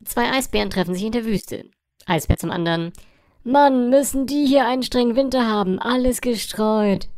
Zwei Eisbären treffen sich in der Wüste. Eisbär zum anderen. Mann, müssen die hier einen strengen Winter haben. Alles gestreut.